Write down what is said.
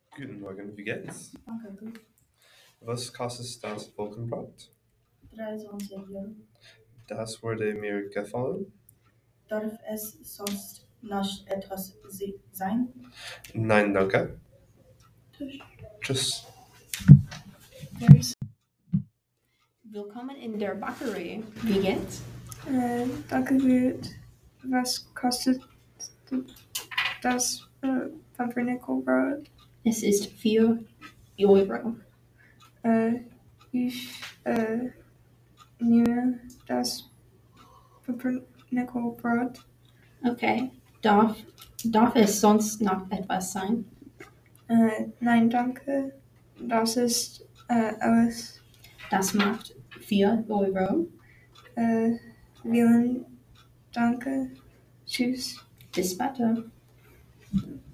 Guten Morgen, wie geht's? Danke, gut. Was kostet das Wolkenbrot? 23 Euro. Das würde mir gefallen. Darf es sonst noch etwas sein? Nein, danke. Tschüss. Tschüss. Willkommen in der Bäckerei. Wie geht's? Danke gut. Was kostet das Pumpernickelbrot? Es ist 4 Euro. Ich nehme das Pumpernickelbrot. Okay. Darf es sonst noch etwas sein? Nein, danke. Das ist alles. Das macht 4 Euro. Vielen Danke. Tschüss. Bis später.